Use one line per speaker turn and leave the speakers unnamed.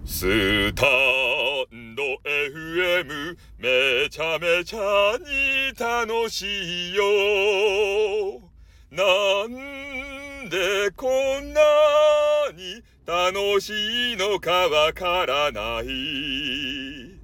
スタンド FM めちゃめちゃに楽しいよ。なんでこんなに楽しいのかわからない。